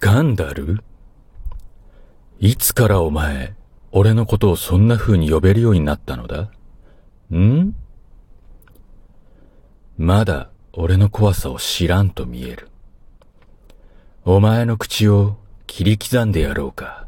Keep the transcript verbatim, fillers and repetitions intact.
ガンダル？いつからお前、俺のことをそんな風に呼べるようになったのだ？ん？まだ俺の怖さを知らんと見える。お前の口を切り刻んでやろうか。